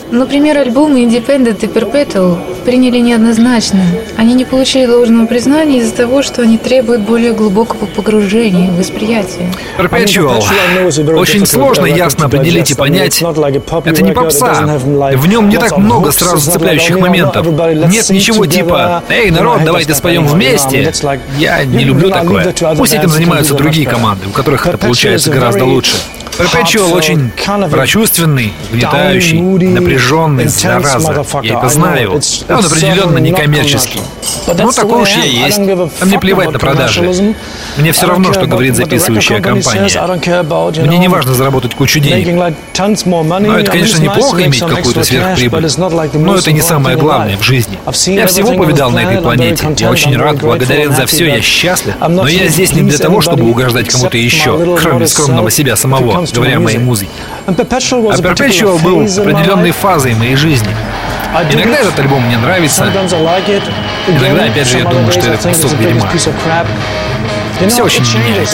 Например, альбомы Independent и Perpetual приняли неоднозначно. Они не получили должного признания из-за того, что они требуют более глубокого погружения в восприятие. Perpetual. Очень сложно ясно определить и понять. Это не попса. В нем не так много сразу цепляющих моментов. Нет ничего типа «Эй, народ, давайте споем вместе». Я не люблю такое. Пусть этим занимаются другие команды, у которых это получается гораздо лучше. Perpetual очень прочувственный, угнетающий, напряженный, зараза. Я это знаю. Он определенно некоммерческий. Но такой уж я есть. А мне плевать на продажи. Мне все равно, что говорит записывающая компания. Мне не важно заработать кучу денег. Но это, конечно, неплохо иметь какую-то сверхприбыль. Но это не самое главное в жизни. Я всего повидал на этой планете. Я очень рад, благодарен за все, я счастлив. Но я здесь не для того, чтобы угождать кому-то еще, кроме скромного себя самого, говоря о моей музыке. А Perpetual был определенной фазой моей жизни. Иногда этот альбом мне нравится. Иногда, опять же, я думаю, что это кусок дерьма. Все очень меняется.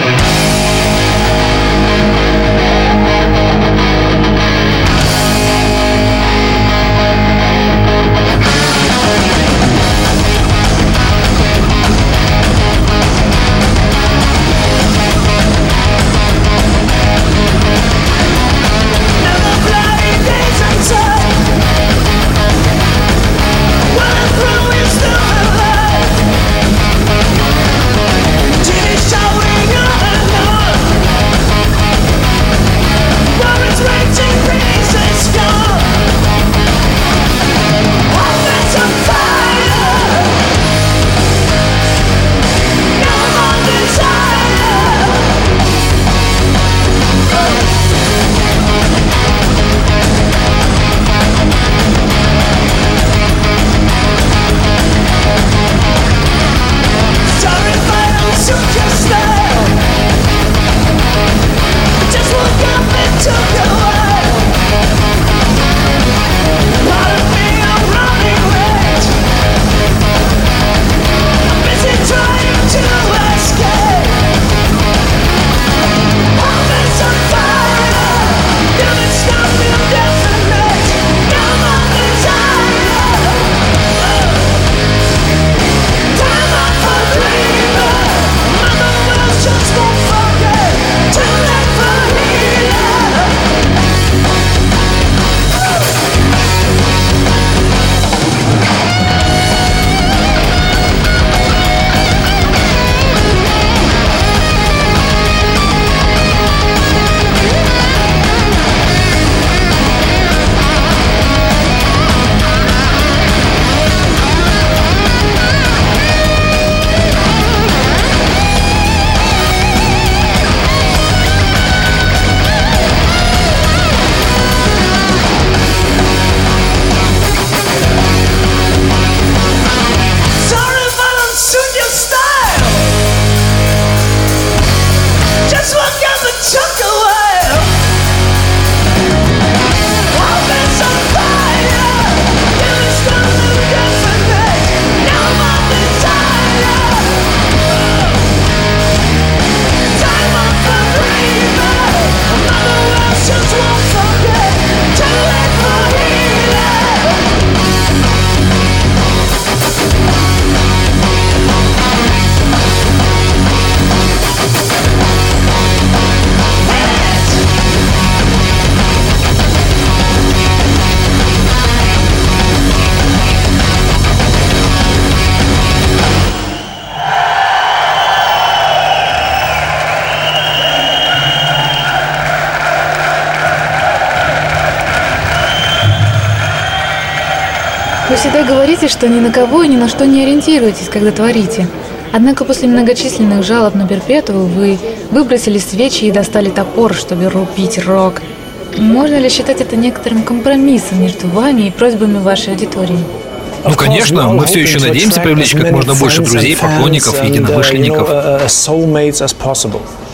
Вы всегда говорите, что ни на кого и ни на что не ориентируетесь, когда творите. Однако после многочисленных жалоб на Perpetual вы выбросили свечи и достали топор, чтобы рубить рок. Можно ли считать это некоторым компромиссом между вами и просьбами вашей аудитории? Ну, конечно, мы все еще надеемся привлечь как можно больше друзей, поклонников и единомышленников.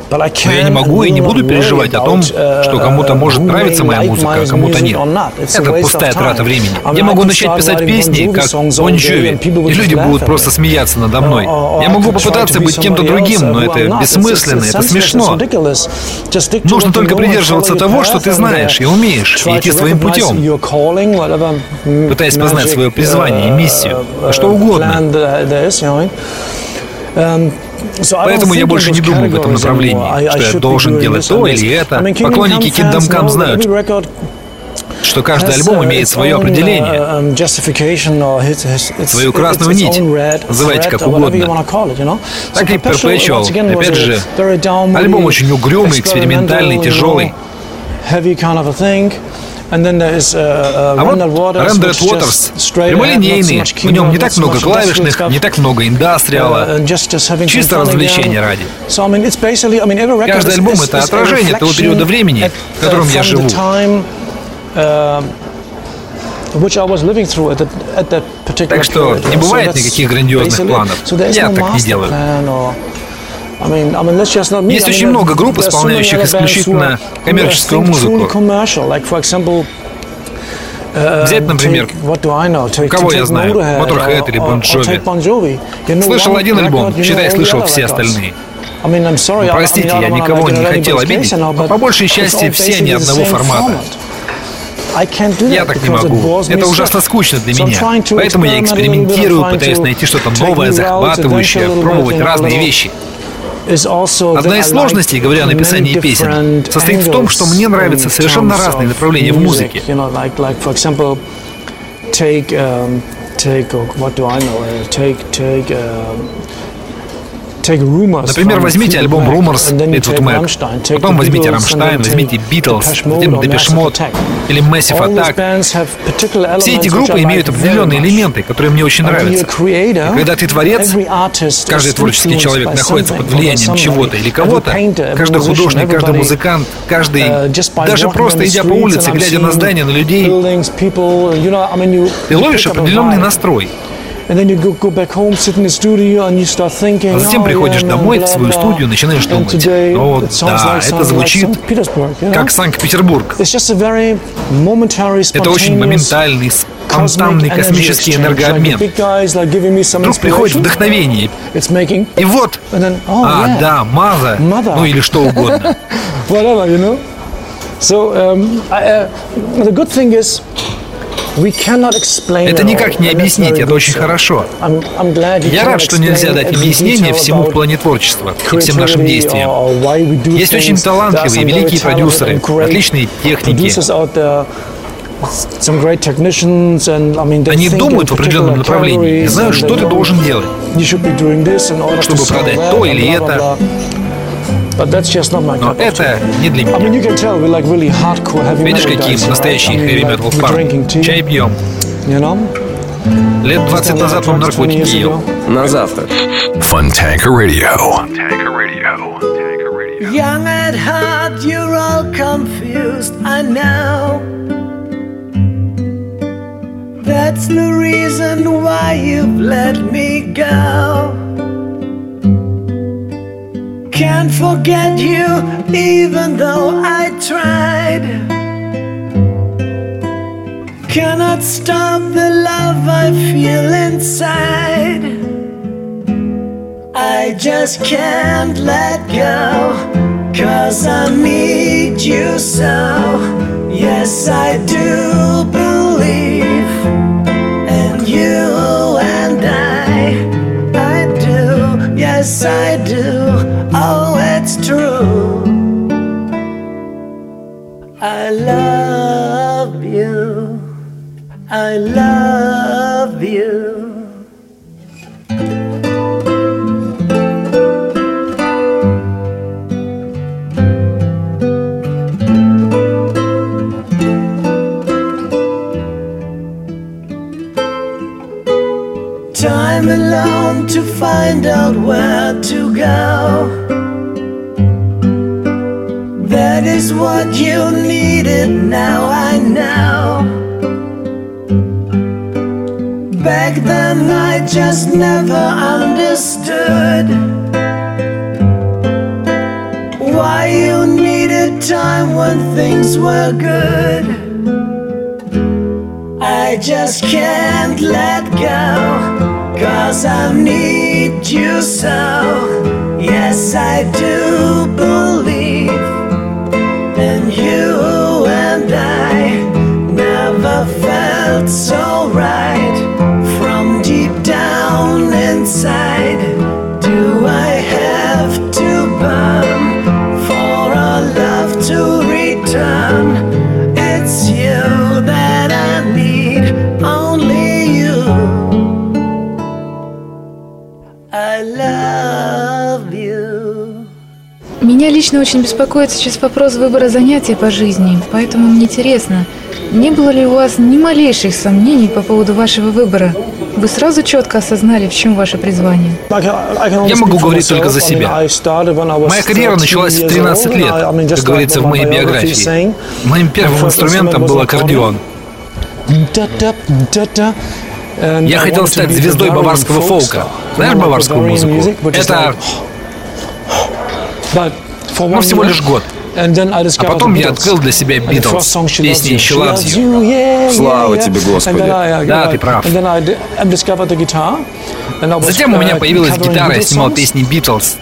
Но я не могу и не буду переживать о том, что кому-то может нравиться моя музыка, а кому-то нет. Это пустая трата времени. Я могу начать писать песни, как Bon Jovi, и люди будут просто смеяться надо мной. Я могу попытаться быть кем-то другим, но это бессмысленно, это смешно. Нужно только придерживаться того, что ты знаешь и умеешь, и идти своим путем, пытаясь познать свое призвание и миссию, что угодно. Поэтому я больше не думаю в этом направлении, что я должен делать то или это. Поклонники Kingdom Come знают, что каждый альбом имеет свое определение, свою красную нить, называйте как угодно. Так и Perpetual, опять же, альбом очень угрюмый, экспериментальный, тяжелый. А вот Rendered Waters прямолинейный, в нем не так много клавишных, не так много индастриала, чисто развлечения ради. Каждый альбом — это отражение того периода времени, в котором я живу. Так что не бывает никаких грандиозных планов. Я так не делаю. Есть очень много групп, исполняющих исключительно коммерческую музыку. Взять, например, кого я знаю, Motorhead или Bon Jovi. Слышал один альбом, считай, слышал все остальные. Простите, я никого не хотел обидеть, но по большей части все они одного формата. Я так не могу. Это ужасно скучно для меня. Поэтому я экспериментирую, пытаюсь найти что-то новое, захватывающее, пробовать разные вещи. Одна из сложностей, говоря о написании песен, состоит в том, что мне нравятся совершенно разные направления в музыке. Например, возьмите альбом Rumors, Fleetwood Mac, потом возьмите Rammstein, возьмите Beatles, затем Depeche Mode или Massive Attack. Все эти группы имеют определенные элементы, которые мне очень нравятся. И когда ты творец, каждый творческий человек находится под влиянием чего-то или кого-то, каждый художник, каждый музыкант, каждый, даже просто идя по улице, глядя на здания, на людей, ты ловишь определенный настрой. А затем приходишь домой в свою студию, начинаешь думать: о, да, это звучит как Санкт-Петербург. Это очень моментальный, спонтанный космический энергообмен. Вдруг приходит вдохновение. И вот, да, Маза, ну или что угодно. Это никак не объяснить, это очень хорошо. Я рад, что нельзя дать объяснение всему в плане творчества и всем нашим действиям. Есть очень талантливые, великие продюсеры, отличные техники. Они думают в определенном направлении и знают, что ты должен делать, чтобы продать то или это. Но это не для меня. Видишь, какие мы настоящие хэви-метал парни. Чай пьем. Лет 20 назад вам наркотики ел. На завтра. Fontanka Radio. Young at heart, you're all confused, I know. That's the reason why you've let me go. Can't forget you, even though I tried. Cannot stop the love I feel inside. I just can't let go, 'cause I need you so. Yes, I do believe in you and I do, yes I do. Oh, it's true. I love you. I love you. Time alone to find out where to go. That is what you needed, now I know. Back then I just never understood why you needed time when things were good. I just can't let go, 'cause I need you so. Yes, I do believe in you, and I never felt so right. From deep down inside, do I have to burn for our love to return? It's you that I need, only you. I love you. Меня лично очень беспокоит сейчас вопрос выбора занятия по жизни, поэтому мне интересно, не было ли у вас ни малейших сомнений по поводу вашего выбора? Вы сразу четко осознали, в чем ваше призвание? Я могу говорить только за себя. Моя карьера началась в 13 лет, как говорится в моей биографии. Моим первым инструментом был аккордеон. Я хотел стать звездой баварского фолка. Знаешь баварскую музыку? Это... Ну, всего лишь год. А потом я открыл для себя Битлз, песни «She Loves You». Слава тебе, Господи. Да, ты прав. Затем у меня появилась гитара, я снимал песни Битлз.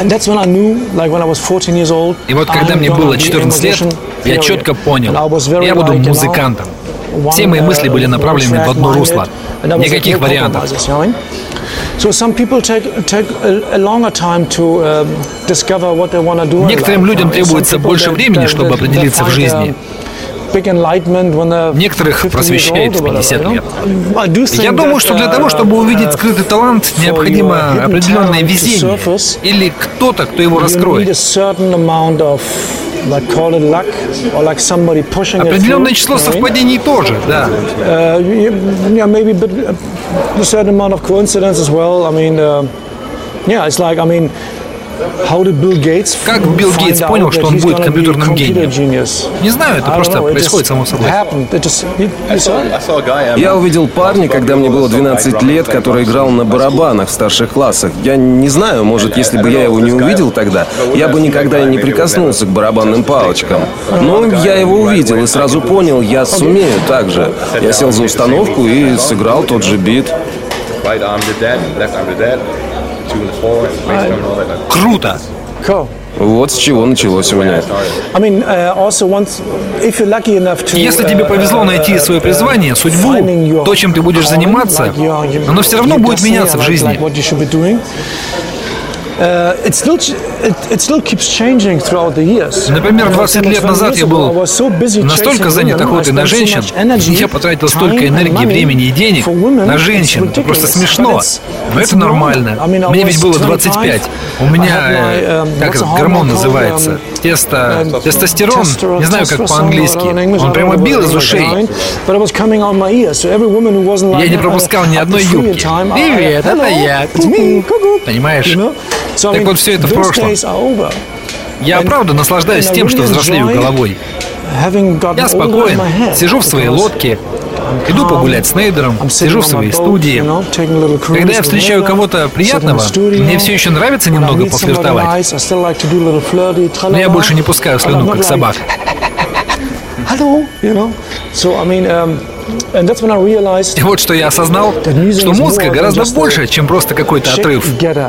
И вот когда мне было 14 лет, я четко понял, я буду музыкантом. Все мои мысли были направлены в одно русло. Никаких вариантов. Некоторым людям требуется больше времени, чтобы определиться в жизни. Некоторых просвещает в 50 лет. Я думаю, что для того, чтобы увидеть скрытый талант, необходимо определенное везение или кто-то, кто его раскроет. Определенное число совпадений тоже, да. Как Билл Гейтс понял, что он будет компьютерным гением? Не знаю, это просто происходит само собой. Я увидел парня, когда мне было 12 лет, который играл на барабанах в старших классах. Я не знаю, может, если бы я его не увидел тогда, я бы никогда не прикоснулся к барабанным палочкам. Но я его увидел и сразу понял, я сумею так же. Я сел за установку и сыграл тот же бит. Круто! Вот с чего началось у меня. Если тебе повезло найти свое призвание, судьбу, то, чем ты будешь заниматься, оно все равно будет меняться в жизни. Например, 20 лет назад я был настолько занят охотой на женщин, я потратил столько энергии, времени и денег на женщин. Это просто смешно. Но это нормально. Мне ведь было 25. У меня, как этот гормон называется? Тестостерон? Не знаю, как по-английски. Он прямо бил из ушей. Я не пропускал ни одной юбки. Привет, это я. Понимаешь? Так вот, все это в прошлом. Я правда наслаждаюсь тем, что взрослею головой. Я спокоен, сижу в своей лодке, иду погулять с Нейдером, сижу в своей студии. Когда я встречаю кого-то приятного, мне все еще нравится немного пофлиртовать. Но я больше не пускаю слюну, как собак. И вот что я осознал, что музыка гораздо больше, чем просто какой-то отрыв.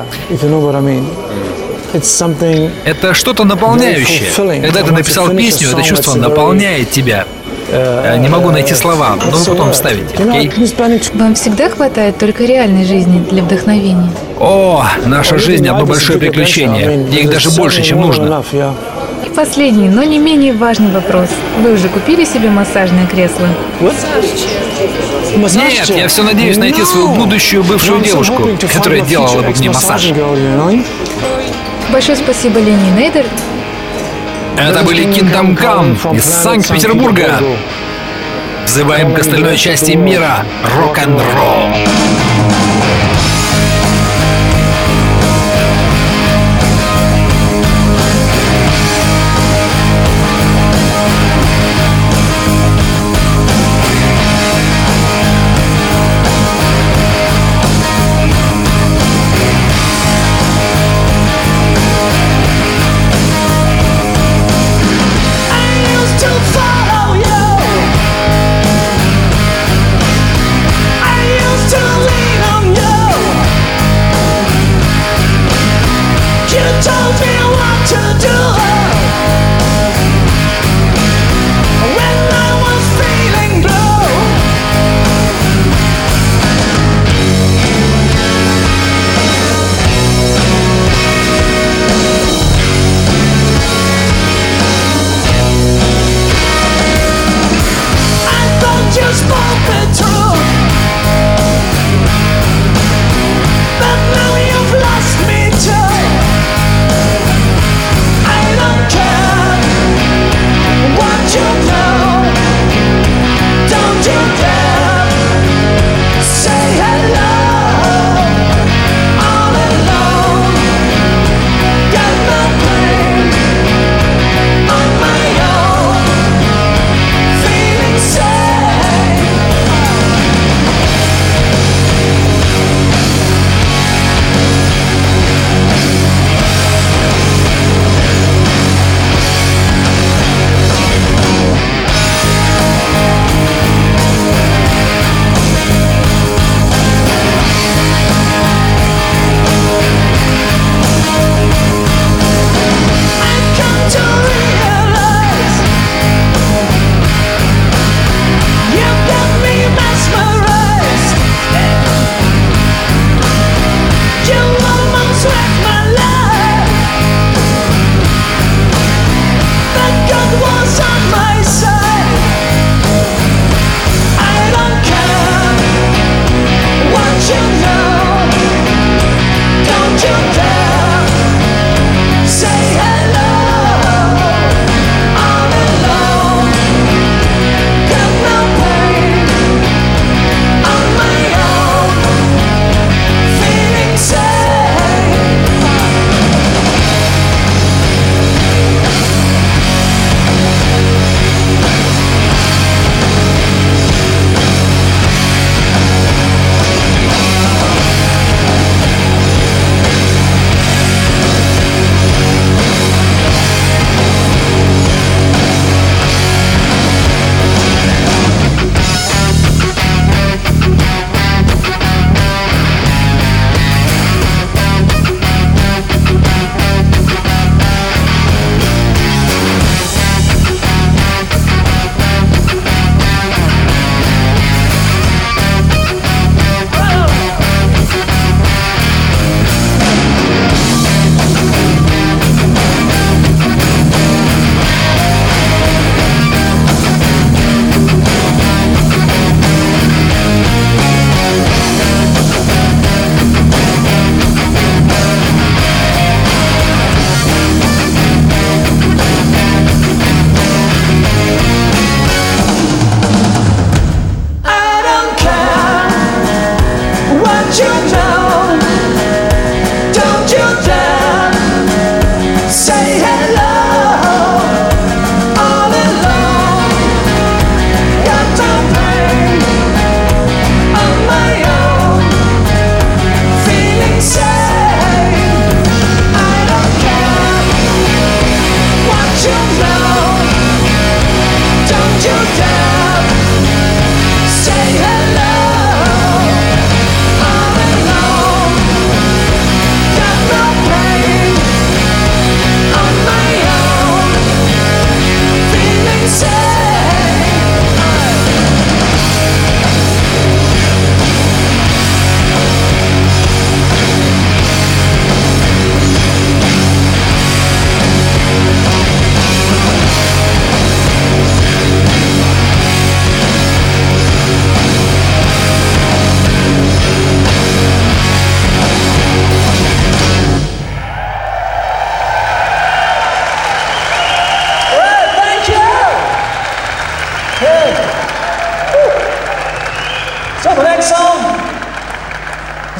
Это что-то наполняющее. Когда ты написал песню, это чувство наполняет тебя. Не могу найти слова, но вы потом вставите, окей? Вам всегда хватает только реальной жизни для вдохновения? О, наша жизнь — одно большое приключение. Их даже больше, чем нужно. И последний, но не менее важный вопрос. Вы уже купили себе массажное кресло? Нет, я все надеюсь найти свою будущую бывшую девушку, которая делала бы мне массаж. Большое спасибо, Ленни и Нейдер. Это были Kingdom Come из Санкт-Петербурга. Взываем к остальной части мира рок-н-ролл.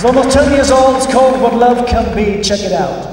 It's almost 10 years old. It's called What Love Can Be. Check it out.